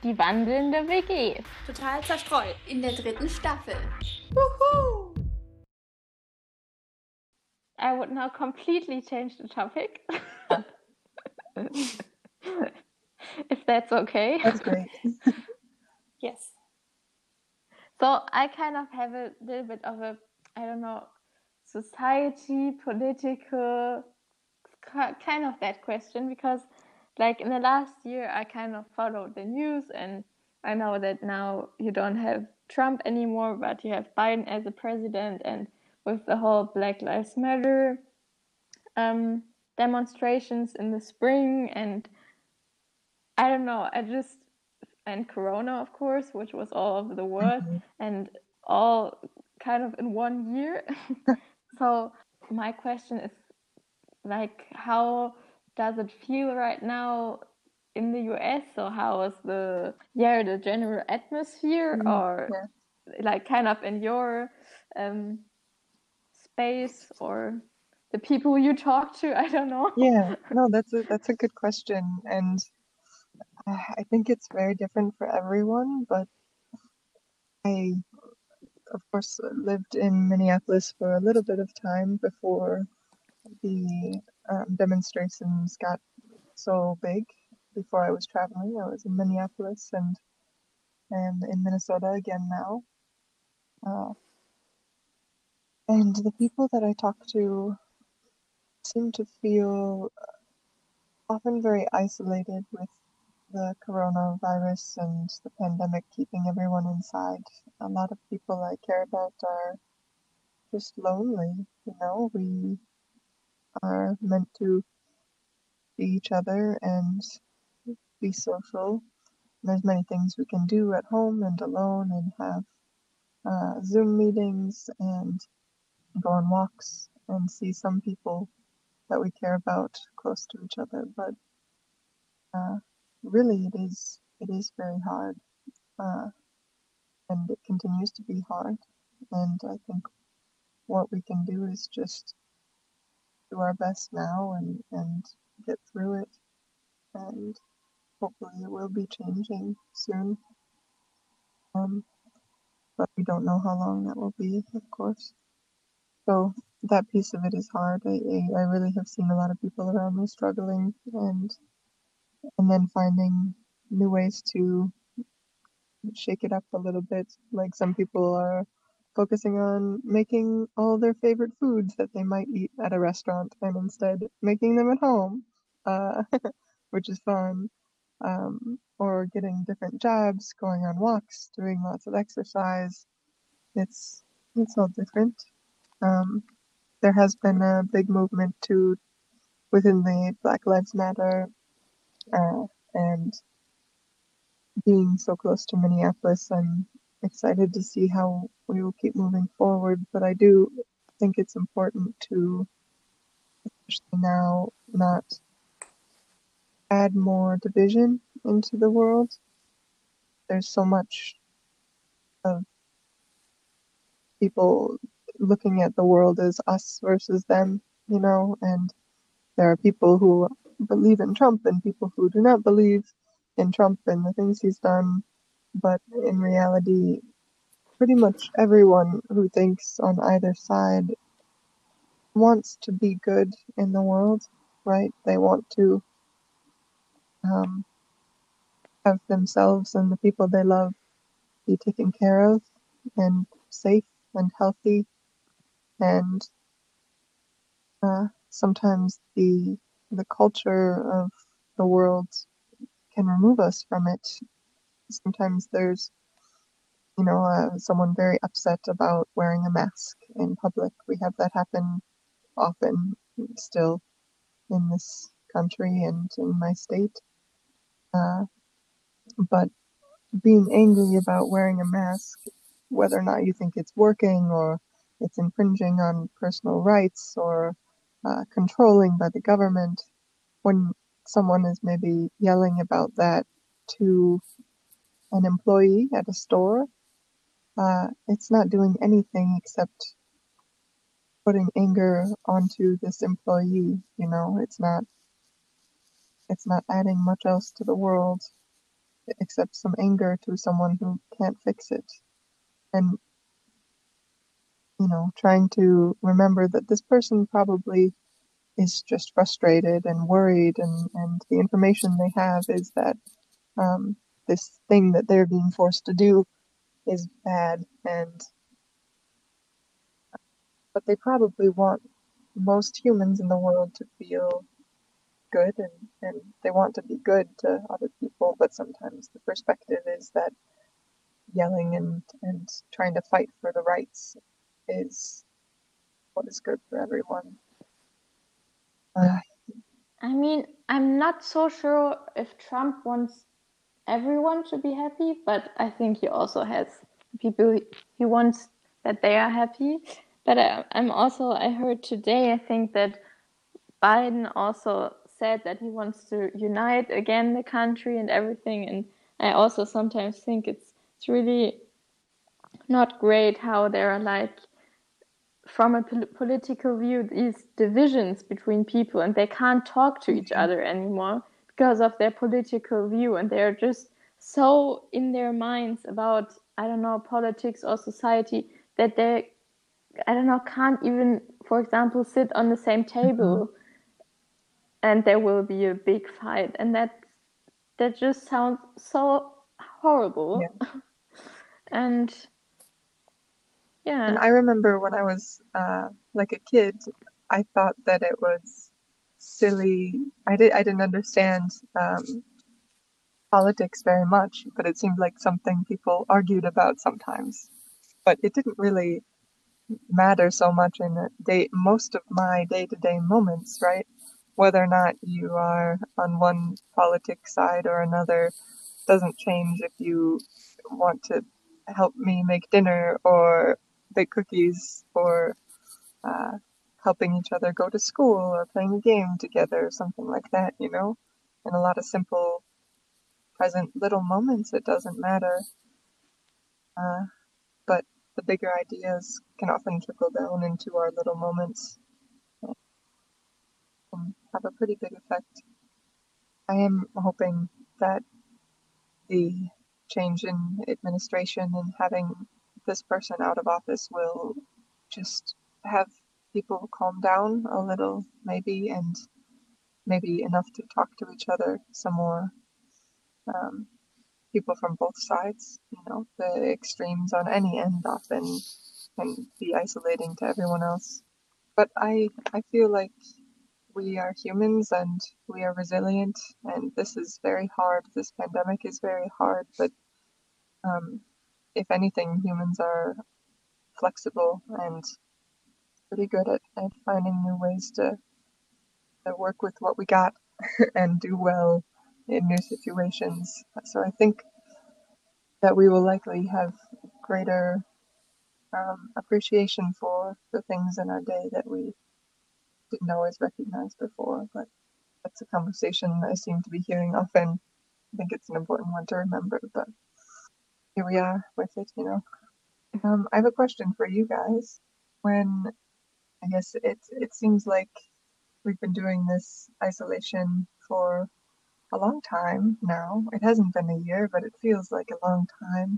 Die wandelnde WG. Total zerstreut. In der 3. Staffel. Wuhu! I would now completely change the topic. If that's okay. That's great. Yes. So I kind of have a little bit of a, I don't know, society, political, kind of that question, because like in the last year I kind of followed the news, and I know that now you don't have Trump anymore, but you have Biden as a president, and with the whole Black Lives Matter demonstrations in the spring, and I don't know, and Corona, of course, which was all over the world, and all kind of in 1 year. So my question is, like, how does it feel right now in the US? So how is the general atmosphere, or like kind of in your space, or the people you talk to? I don't know. Yeah, no, that's a good question, and I think it's very different for everyone, but I, of course, lived in Minneapolis for a little bit of time before the demonstrations got so big. Before I was traveling, I was in Minneapolis and in Minnesota again now. And the people that I talk to seem to feel often very isolated with the coronavirus and the pandemic keeping everyone inside. A lot of people I care about are just lonely, you know. We are meant to see each other and be social. There's many things we can do at home and alone, and have Zoom meetings and go on walks and see some people that we care about close to each other. But really, it is very hard, and it continues to be hard. And I think what we can do is just do our best now and get through it. And hopefully it will be changing soon. But we don't know how long that will be, of course. So that piece of it is hard. I really have seen a lot of people around me struggling, and then finding new ways to shake it up a little bit. Like, some people are focusing on making all their favorite foods that they might eat at a restaurant, and instead making them at home, which is fun. Or getting different jobs, going on walks, doing lots of exercise. It's all different. There has been a big movement within the Black Lives Matter, and being so close to Minneapolis, I'm excited to see how we will keep moving forward. But I do think it's important to, especially now, not add more division into the world. There's so much of people looking at the world as us versus them, you know, and there are people who believe in Trump and people who do not believe in Trump and the things he's done. But in reality, pretty much everyone who thinks on either side wants to be good in the world, right? They want to have themselves and the people they love be taken care of and safe and healthy. And sometimes the culture of the world can remove us from it. Sometimes there's, someone very upset about wearing a mask in public. We have that happen often still in this country and in my state. But being angry about wearing a mask, whether or not you think it's working or it's infringing on personal rights or controlling by the government, when someone is maybe yelling about that to an employee at a store, it's not doing anything except putting anger onto this employee. You know, it's not adding much else to the world. except some anger to someone who can't fix it. And, trying to remember that this person probably is just frustrated and worried, and the information they have is that this thing that they're being forced to do is bad, but they probably want most humans in the world to feel good, and they want to be good to other people, but sometimes the perspective is that yelling and trying to fight for the rights is what is good for everyone. I mean, I'm not so sure if Trump wants everyone to be happy, but I think he also has people he wants that they are happy. But I heard today, I think that Biden also said that he wants to unite again the country and everything. And I also sometimes think it's really not great how there are like, from a political view, these divisions between people, and they can't talk to each other anymore because of their political view, and they're just so in their minds about, I don't know, politics or society, that they, I don't know, can't even, for example, sit on the same table, and there will be a big fight, and that just sounds so horrible. Yeah. And yeah. And I remember when I was like a kid, I thought that it was silly. I didn't understand politics very much, but it seemed like something people argued about sometimes. But it didn't really matter so much in most of my day-to-day moments, right? Whether or not you are on one politic side or another doesn't change if you want to help me make dinner or bake cookies or helping each other go to school or playing a game together or something like that, In a lot of simple, present little moments, it doesn't matter. But the bigger ideas can often trickle down into our little moments and have a pretty big effect. I am hoping that the change in administration and having this person out of office will just have people calm down a little, maybe, and maybe enough to talk to each other some more. People from both sides, the extremes on any end often can be isolating to everyone else. But I feel like we are humans and we are resilient, and this is very hard. This pandemic is very hard, but if anything, humans are flexible and pretty good at finding new ways to work with what we got and do well in new situations. So I think that we will likely have greater appreciation for the things in our day that we didn't always recognize before. But that's a conversation I seem to be hearing often. I think it's an important one to remember, but here we are with it, I have a question for you guys. When I guess it seems like we've been doing this isolation for a long time now. It hasn't been a year, but it feels like a long time.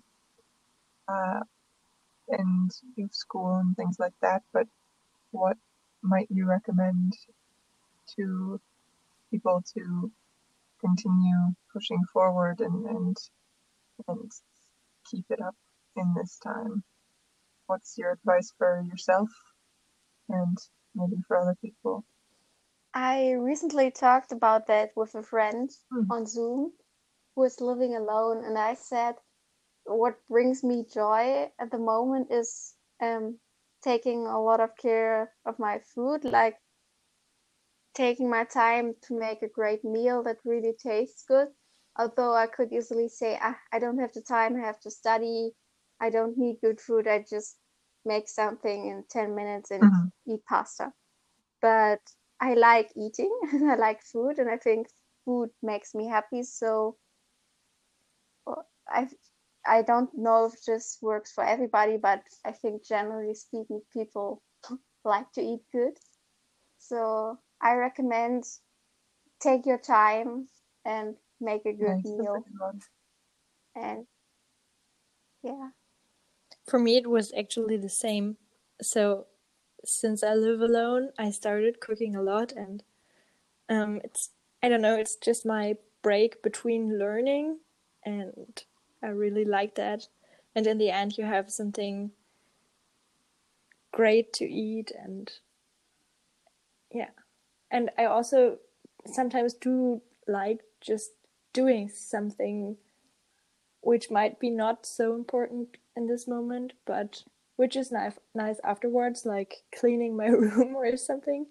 And you have school and things like that, but what might you recommend to people to continue pushing forward and keep it up in this time? What's your advice for yourself and maybe for other people? I recently talked about that with a friend on Zoom who is living alone, and I said, what brings me joy at the moment is taking a lot of care of my food, like taking my time to make a great meal that really tastes good. Although I could easily say, I don't have the time, I have to study, I don't need good food, I just make something in 10 minutes and eat pasta. But I like eating and I like food, and I think food makes me happy. So I don't know if this works for everybody, but I think generally speaking, people like to eat good. So I recommend take your time and make a good meal. And yeah. For me, it was actually the same. So since I live alone, I started cooking a lot, and I don't know, it's just my break between learning, and I really like that. And in the end, you have something great to eat, and yeah. And I also sometimes do like just doing something which might be not so important in this moment, but which is nice afterwards, like cleaning my room or something.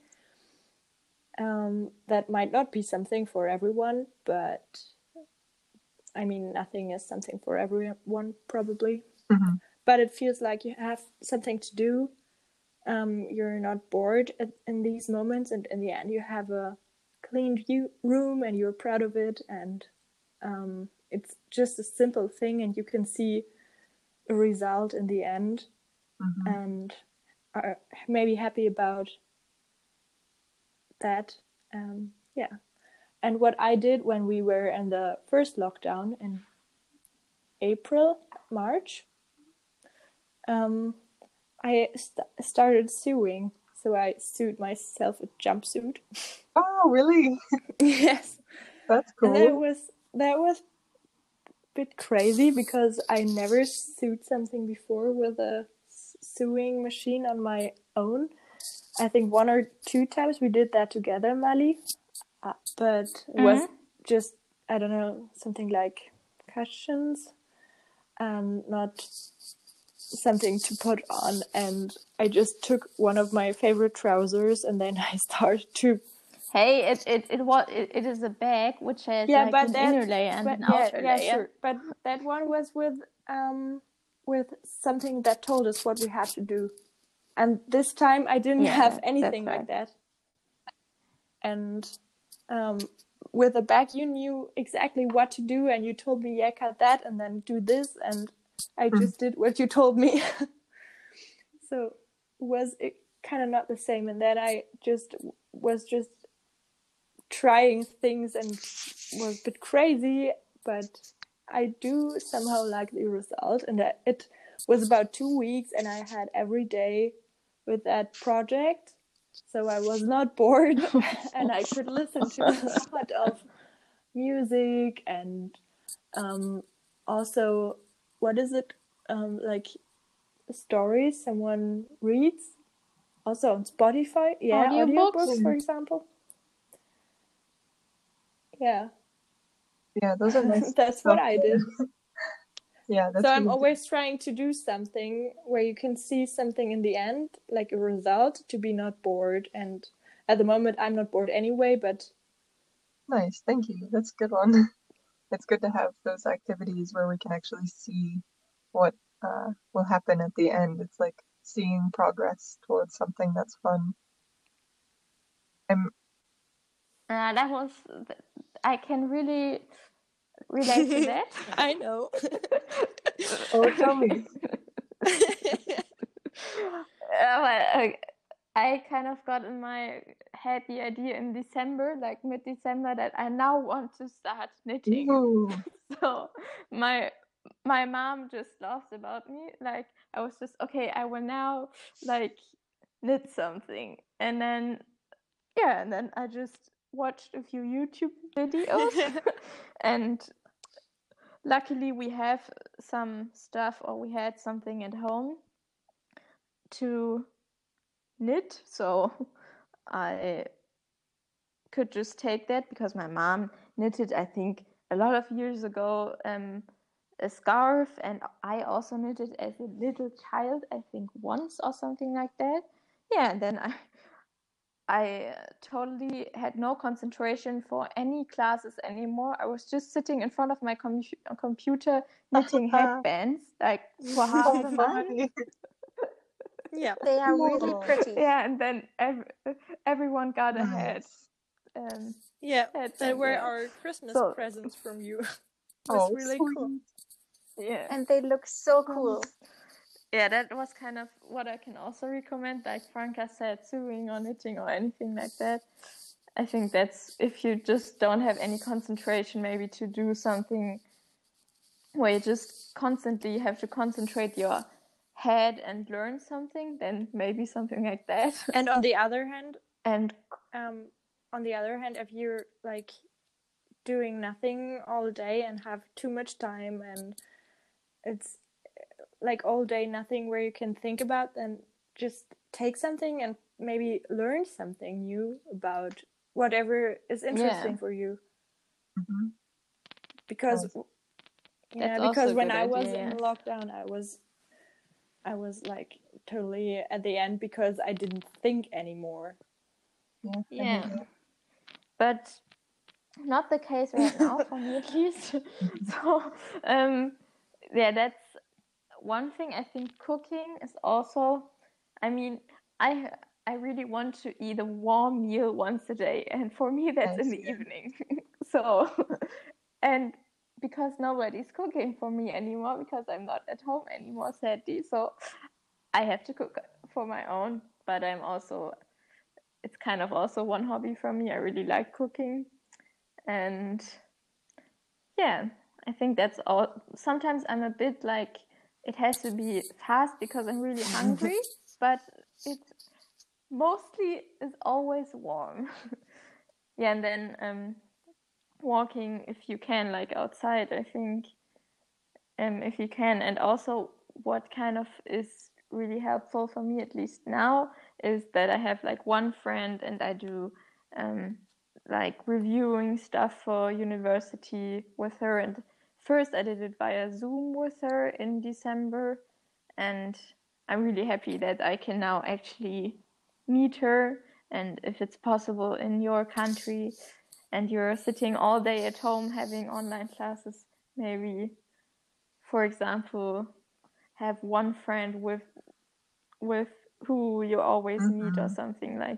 That might not be something for everyone, but I mean, nothing is something for everyone, probably. Mm-hmm. But it feels like you have something to do. You're not bored in these moments, and in the end, you have a cleaned room and you're proud of it. And it's just a simple thing, and you can see a result in the end, Mm-hmm. and are maybe happy about that. Yeah. And what I did when we were in the first lockdown in March, I started sewing. So I sewed myself a jumpsuit. Oh, really? Yes. That's And cool. that was a bit crazy because I never sewed something before with a sewing machine on my own. I think 1 or 2 times we did that together, Mali. But it was just, I don't know, something like cushions and not something to put on. And I just took one of my favorite trousers and then I started to... Hey, it is a bag which has Yeah, like but an that, inner layer and but an yeah, outer yeah, layer. sure. But that one was with something that told us what we had to do. And this time I didn't have anything like that. And with a bag, you knew exactly what to do, and you told me, yeah, cut that, and then do this, and I just did what you told me. So was it kind of not the same, and then I was just trying things and was a bit crazy, but I do somehow like the result, and it was about 2 weeks, and I had every day with that project. So I was not bored and I could listen to a lot of music and also, what is it, like stories someone reads, also on Spotify. Yeah, audiobooks, for example. Yeah. Yeah, those are nice. That's what I did. Yeah, that's so I'm really always trying to do something where you can see something in the end, like a result, to be not bored. And at the moment, I'm not bored anyway, but... nice. Thank you. That's a good one. It's good to have those activities where we can actually see what will happen at the end. It's like seeing progress towards something that's fun. That was, I can really relate to that. I know. Oh, tell me. I kind of got in my head the idea in December, like mid-December, that I now want to start knitting. Ooh. So my mom just laughs about me. Like, I was just, okay, I will now like knit something. And then I just watched a few YouTube videos and luckily we have some stuff, or we had something at home to knit, so I could just take that because my mom knitted, I think, a lot of years ago, a scarf, and I also knitted as a little child, I think once or something like that. Yeah, and then I totally had no concentration for any classes anymore. I was just sitting in front of my computer knitting headbands, like for half the month. Yeah, they are really pretty. Yeah, and then everyone got a head. Yeah, they were our Christmas presents from you. It was really cool. Yeah, and they look so cool. Yeah, that was kind of what I can also recommend, like Franca said, sewing or knitting or anything like that. I think that's, if you just don't have any concentration, maybe to do something where you just constantly have to concentrate your head and learn something, then maybe something like that. And on the other hand, and if you're like doing nothing all day and have too much time and it's like all day nothing where you can think about, then just take something and maybe learn something new about whatever is interesting for you. Mm-hmm. Because when I was in lockdown, I was like totally at the end because I didn't think anymore. Yeah. But not the case right now for me, at least. So that's one thing. I think cooking is also, I mean, I really want to eat a warm meal once a day, and for me that's in the evening. So, and because nobody's cooking for me anymore, because I'm not at home anymore, sadly, so I have to cook for my own. But it's kind of also one hobby for me. I really like cooking, and yeah, I think that's all. Sometimes I'm a bit like, it has to be fast because I'm really hungry, but it mostly is always warm. And then walking if you can, like outside, I think, if you can. And also what kind of is really helpful for me, at least now, is that I have like one friend and I do like reviewing stuff for university with her. And first I did it via Zoom with her in December, and I'm really happy that I can now actually meet her. And if it's possible in your country and you're sitting all day at home having online classes, maybe, for example, have one friend with who you always meet, or something, like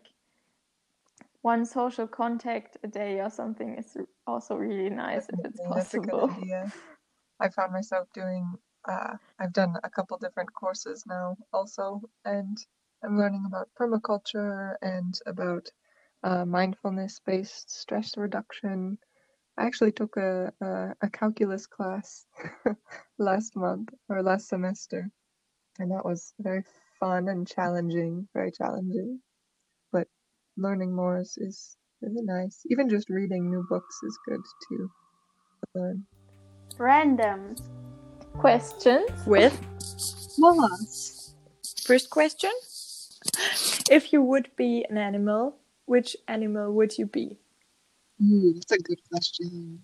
one social contact a day or something is also really nice. Definitely, if it's possible. That's a good idea. I found myself doing, I've done a couple different courses now also, and I'm learning about permaculture and about mindfulness-based stress reduction. I actually took a calculus class last semester, and that was very fun and challenging, very challenging. But learning more is really nice. Even just reading new books is good to learn. Random questions with Moss. First question: if you would be an animal, which animal would you be? That's a good question.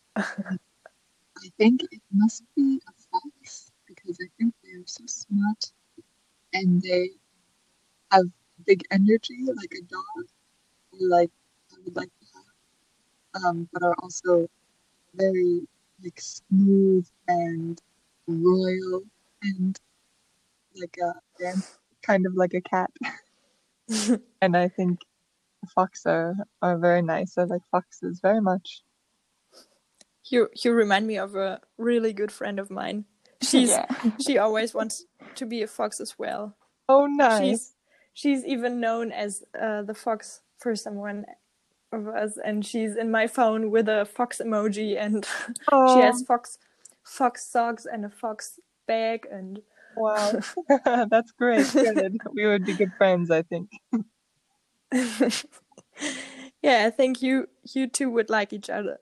I think it must be a fox, because I think they're so smart and they have big energy like a dog, or like I would like to have, but are also very like smooth and royal and like kind of like a cat. And I think foxes are very nice. I like foxes very much. You remind me of a really good friend of mine. She always wants to be a fox as well. Oh, nice. She's even known as the fox for someone of us, and she's in my phone with a fox emoji, and she has fox socks and a fox bag, and wow. That's great. Good. We would be good friends, I think. Yeah, I think you two would like each other.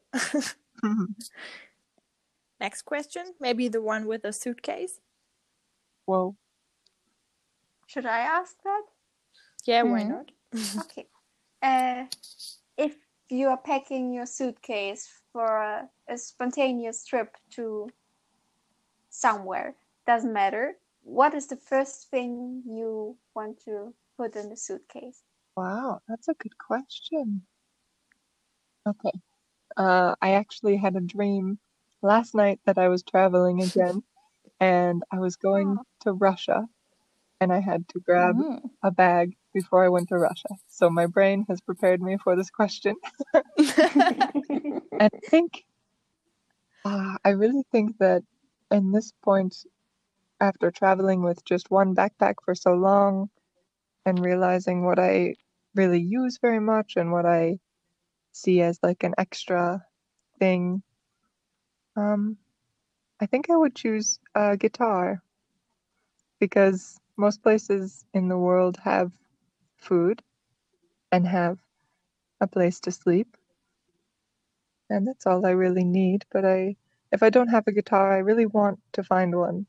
Next question, maybe the one with a suitcase. Whoa. Should I ask that? Yeah, why not? Okay. If you are packing your suitcase for a spontaneous trip to somewhere, doesn't matter, what is the first thing you want to put in the suitcase? Wow, that's a good question. Okay. I actually had a dream last night that I was traveling again, and I was going to Russia, and I had to grab a bag before I went to Russia. So my brain has prepared me for this question. And I really think that in this point, after traveling with just one backpack for so long and realizing what I really use very much and what I see as like an extra thing, I think I would choose a guitar because most places in the world have food and have a place to sleep, and that's all I really need. But if I don't have a guitar, I really want to find one.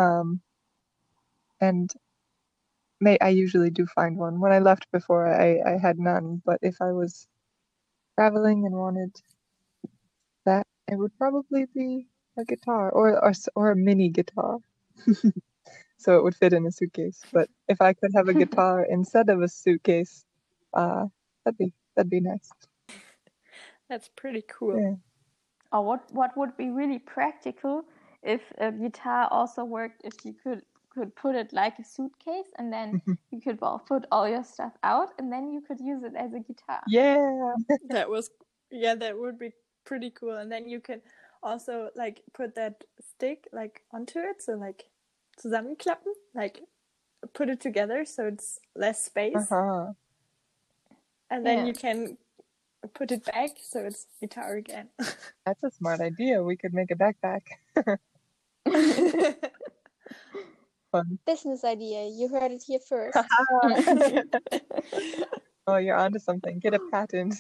And I usually do find one. When I left before, I had none, but if I was traveling and wanted that, it would probably be a guitar or a mini guitar. So it would fit in a suitcase. But if I could have a guitar instead of a suitcase, that'd be nice. That's pretty cool. Yeah. Or what would be really practical if a guitar also worked, if you could put it like a suitcase, and then you could put all your stuff out, and then you could use it as a guitar. Yeah. That would be pretty cool. And then you can also like put that stick like onto it, so like zusammenklappen, like put it together so it's less space. And then you can put it back so it's guitar again. That's a smart idea. We could make a backpack. Fun. Business idea. You heard it here first. Oh, you're onto something. Get a patent.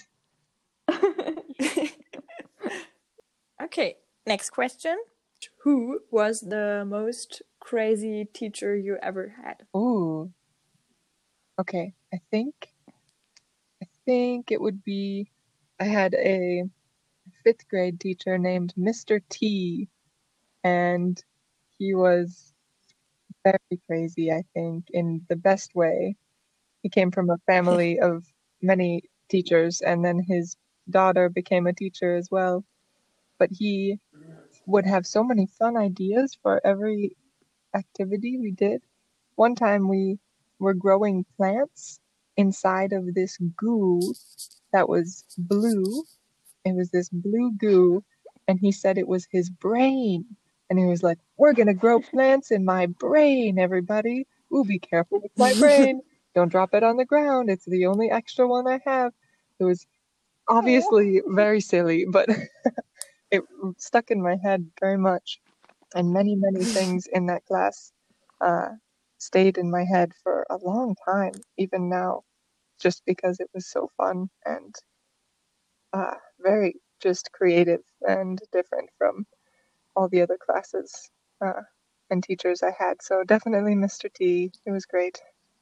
Okay, next question. Who was the most crazy teacher you ever had? Ooh. Okay, I think it would be, I had a 5th grade teacher named Mr. T, and he was very crazy, I think, in the best way. He came from a family of many teachers, and then his daughter became a teacher as well. But he would have so many fun ideas for every activity we did. One time we were growing plants inside of this goo that was blue. It was this blue goo, and he said it was his brain. And he was like, "We're gonna grow plants in my brain, everybody. Ooh, be careful with my brain. Don't drop it on the ground. It's the only extra one I have." It was obviously very silly, but it stuck in my head very much. And many, many things in that class stayed in my head for a long time, even now, just because it was so fun and very just creative and different from all the other classes and teachers I had. So definitely Mr. T. It was great.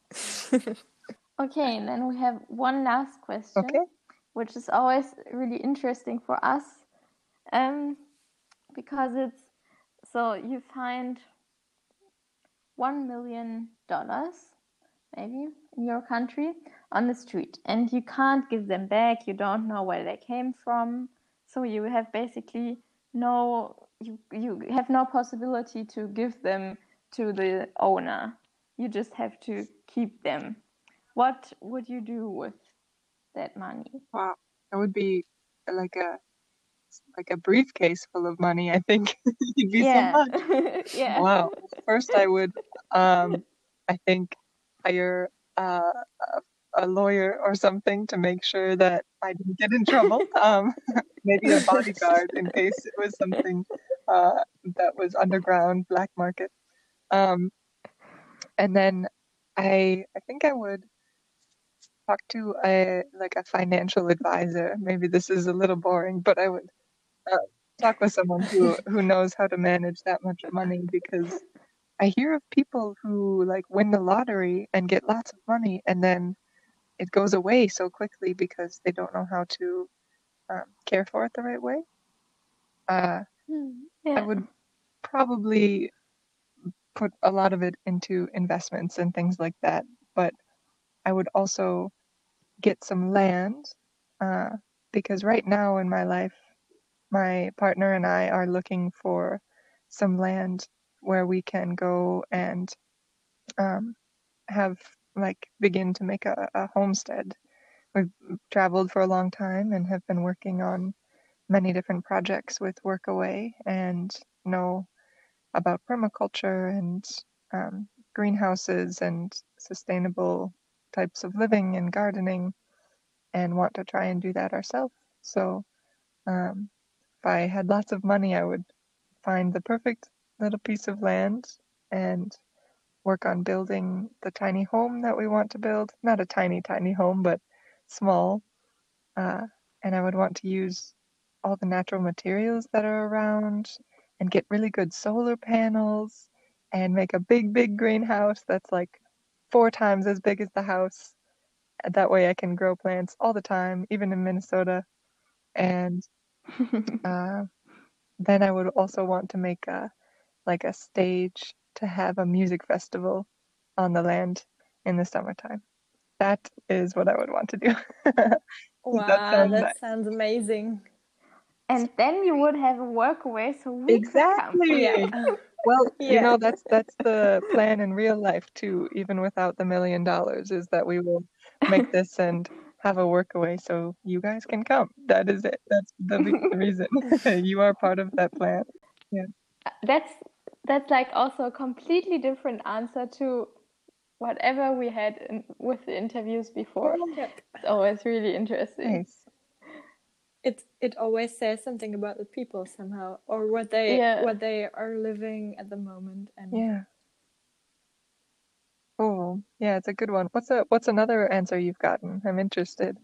Okay, and then we have one last question, which is always really interesting for us, because it's, so you find $1 million maybe in your country on the street, and you can't give them back. You don't know where they came from, so you have basically you have no possibility to give them to the owner. You just have to keep them. What would you do with that money? Wow, that would be like a briefcase full of money, I think. You'd be so much. Yeah. Wow. First I would I think hire a lawyer or something to make sure that I didn't get in trouble. Maybe a bodyguard in case it was something that was underground, black market. And then I think I would talk to a financial advisor. Maybe this is a little boring, but I would talk with someone who knows how to manage that much money, because I hear of people who like win the lottery and get lots of money, and then it goes away so quickly because they don't know how to care for it the right way. I would probably put a lot of it into investments and things like that, but I would also get some land because right now in my life, my partner and I are looking for some land where we can go and begin to make a homestead. We've traveled for a long time and have been working on many different projects with Workaway and know about permaculture and greenhouses and sustainable types of living and gardening, and want to try and do that ourselves. So if I had lots of money, I would find the perfect little piece of land and work on building the tiny home that we want to build. Not a tiny, tiny home, but small. And I would want to use all the natural materials that are around and get really good solar panels and make a big, big greenhouse that's like 4 times as big as the house. That way I can grow plants all the time, even in Minnesota. And then I would also want to make a stage to have a music festival on the land in the summertime. That is what I would want to do. Wow, that sounds amazing. And then you would have a workaway so we could come. Yeah. Well, that's the plan in real life too, even without the $1 million, is that we will make this and have a workaway so you guys can come. That is it. That's the reason. You are part of that plan. Yeah. That's like also a completely different answer to whatever we had with the interviews before. Yep. It's always really interesting. Nice. It always says something about the people somehow, or what they are living at the moment. And yeah. Oh, yeah, it's a good one. What's another answer you've gotten? I'm interested.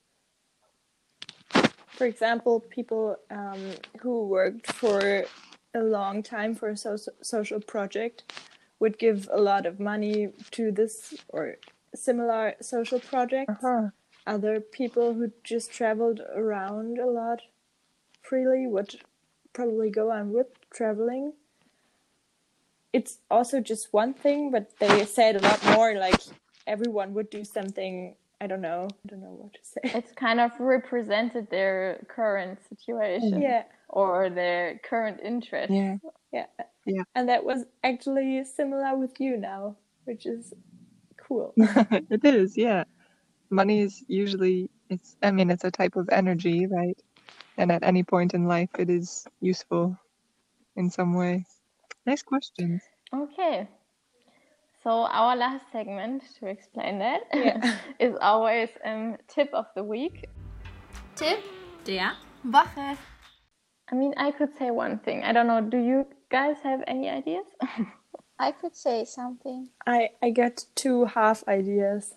For example, people who worked for a long time for a social project would give a lot of money to this or similar social projects. Other people who just traveled around a lot freely would probably go on with traveling. It's also just one thing, but they said a lot more, like everyone would do something. I don't know what to say. It's kind of represented their current situation or their current interest. Yeah. And that was actually similar with you now, which is cool. It is, yeah. Money is usually, it's a type of energy, right? And at any point in life, it is useful in some way. Nice questions. Okay. So our last segment, to explain that, is always tip of the week. Tipp der Woche. I mean, I could say one thing. I don't know. Do you guys have any ideas? I could say something. I got 2 half ideas.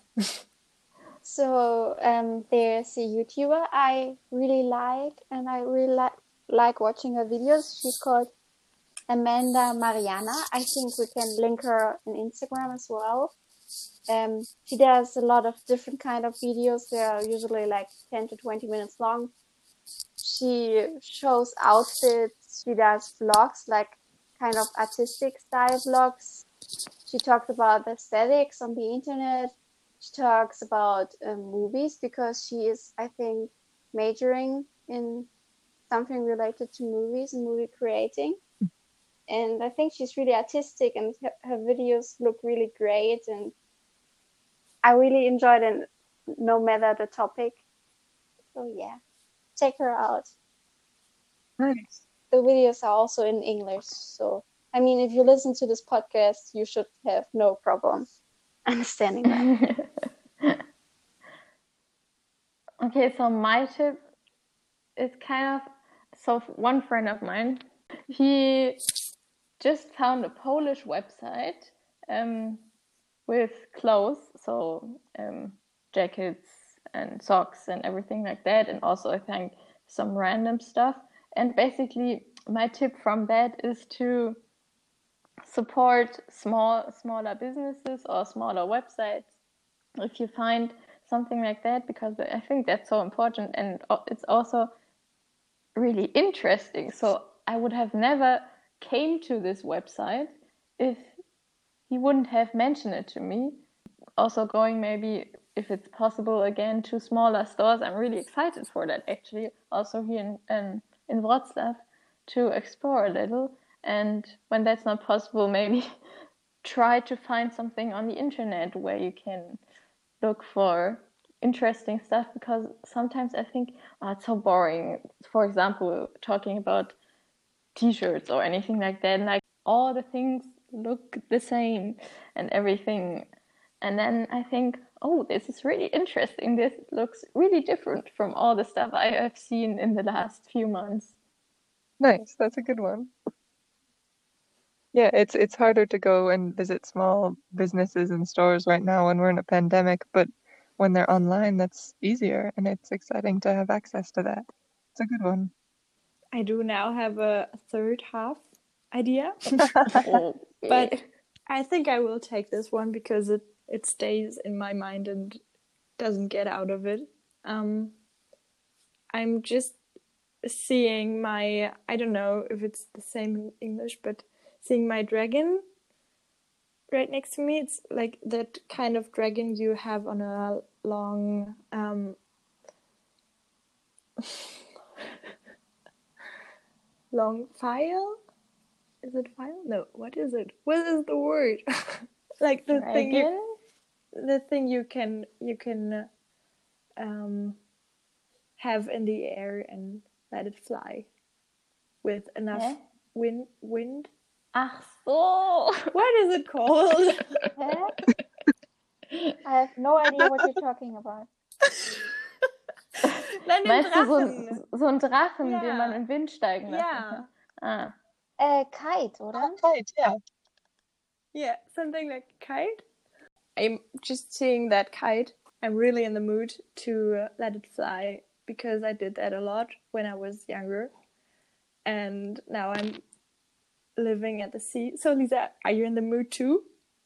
So there's a YouTuber I really like, and I really like watching her videos. She's called Amanda Mariana. I think we can link her on Instagram as well. She does a lot of different kind of videos. They are usually like 10 to 20 minutes long. She shows outfits. She does vlogs, like kind of artistic style vlogs. She talked about the aesthetics on the internet. She talks about movies because she is, I think, majoring in something related to movies and movie creating. And I think she's really artistic, and her videos look really great. And I really enjoyed it, no matter the topic. So yeah, check her out. Nice. The videos are also in English. So, I mean, if you listen to this podcast, you should have no problem understanding that. Okay, so my tip is one friend of mine, he just found a Polish website with clothes, so jackets and socks and everything like that, and also I think some random stuff. And basically my tip from that is to support smaller businesses or smaller websites if you find something like that, because I think that's so important, and it's also really interesting. So I would have never came to this website if he wouldn't have mentioned it to me. Also going maybe, if it's possible, again to smaller stores. I'm really excited for that, actually, also here in Wrocław, to explore a little. And when that's not possible, maybe try to find something on the internet where you can look for interesting stuff, because sometimes I think it's so boring. For example, talking about t-shirts or anything like that, like all the things look the same and everything. And then I think, oh, this is really interesting. This looks really different from all the stuff I have seen in the last few months. Nice. That's a good one. Yeah, it's harder to go and visit small businesses and stores right now when we're in a pandemic, but when they're online, that's easier, and it's exciting to have access to that. It's a good one. I do now have a third half idea, Okay. but I think I will take this one because it stays in my mind and doesn't get out of it. I'm just seeing my, I don't know if it's the same in English, but seeing my dragon right next to me. It's like that kind of dragon you have on a long long file. Is it file? No, what is it? What is the word? Like the Dragon? thing you can have in the air and let it fly with enough wind. Ach so. What is it called? I have no idea what you're talking about. Nein, den Meinst Drachen. du so einen Drachen, Ja. den man in den Wind steigen lassen Ja. kann? Ah. Kite, oder? Kite, yeah. Yeah, something like a kite. I'm just seeing that kite. I'm really in the mood to let it fly because I did that a lot when I was younger. And now I'm living at the sea. So Lisa, are you in the mood too?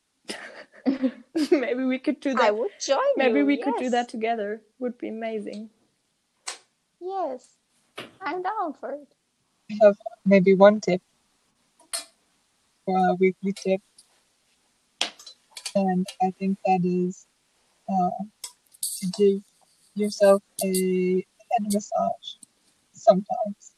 Maybe we could do that. I would join you. Maybe we could do that together. Would be amazing. Yes, I'm down for it. I have maybe one tip for a weekly tip, and I think that is to give yourself a head massage sometimes,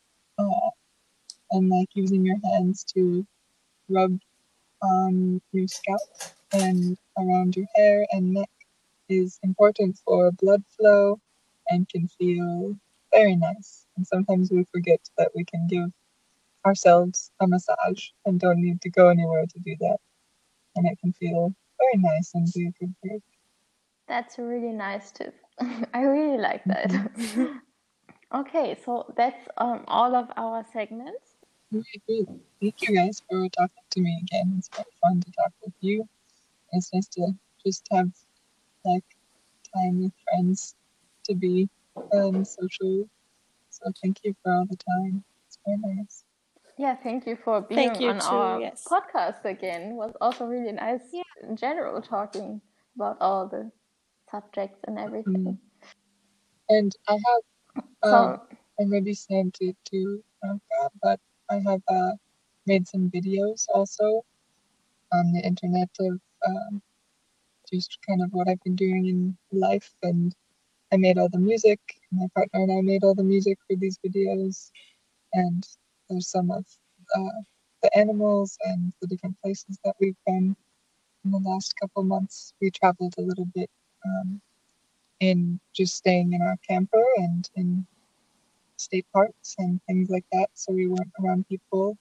and like using your hands to rub on your scalp and around your hair and neck is important for blood flow and can feel very nice. And sometimes we forget that we can give ourselves a massage and don't need to go anywhere to do that. And it can feel very nice and be a good break. That's a really nice tip. I really like that. Okay, so that's all of our segments. Very good. Thank you guys for talking to me again. It's quite fun to talk with you. It's nice to just have like time with friends to be social. So thank you for all the time. It's very nice. Yeah, thank you for being on our podcast again. It was also really nice in general talking about all the subjects and everything. And I have I maybe sent it to Franca, but I have made some videos also on the internet of just kind of what I've been doing in life, and I made all the music. My partner and I made all the music for these videos, and there's some of the animals and the different places that we've been in the last couple months. We traveled a little bit in just staying in our camper and in state parks and things like that, so we weren't around people.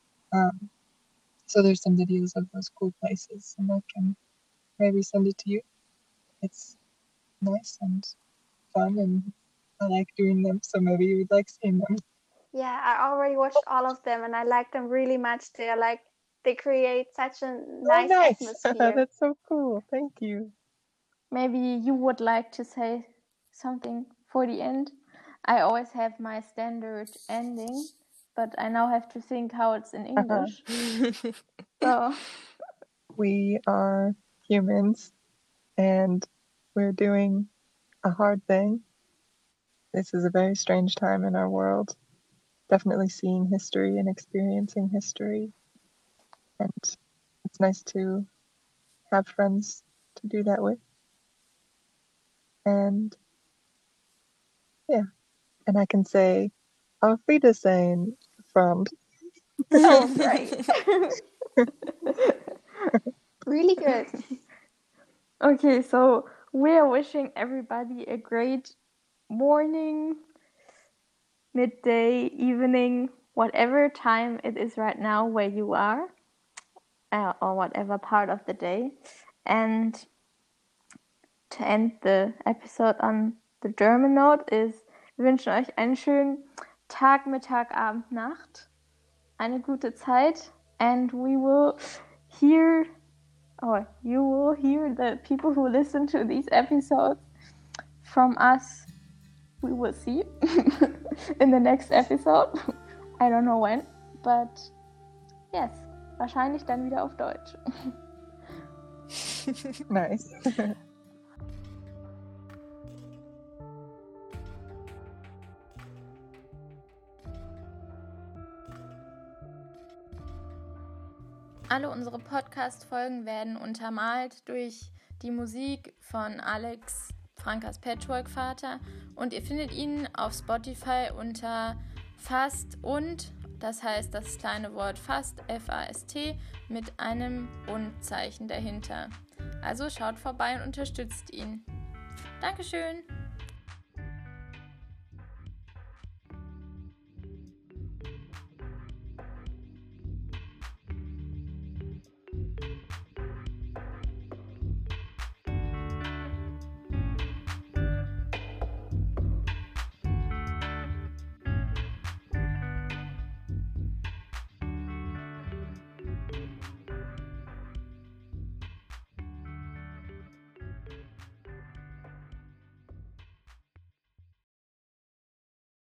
So there's some videos of those cool places, and I can maybe send it to you. It's nice and fun, and I like doing them, so maybe you would like seeing them. Yeah, I already watched all of them, and I like them really much. They create such a nice atmosphere. That's so cool. Thank you. Maybe you would like to say something for the end. I always have my standard ending, but I now have to think how it's in English. So we are humans, and we're doing a hard thing. This is a very strange time in our world. Definitely seeing history and experiencing history. And it's nice to have friends to do that with. And yeah, and I can say, Auf Wiedersehen, friend. Oh, great. Really good. Okay, so we are wishing everybody a great morning, midday, evening, whatever time it is right now where you are, or whatever part of the day. And to end the episode on the German note is, wir wünschen euch einen schönen Tag, Mittag, Abend, Nacht, eine gute Zeit, and we will hear, or you will hear the people who listen to these episodes from us. We will see in the next episode. I don't know when, but yes, wahrscheinlich dann wieder auf Deutsch. Nice. Alle unsere Podcast-Folgen werden untermalt durch die Musik von Alex, Frankas Patchwork-Vater, und ihr findet ihn auf Spotify unter Fast und, das heißt das kleine Wort Fast, F-A-S-T, mit einem Und-Zeichen dahinter. Also schaut vorbei und unterstützt ihn. Dankeschön!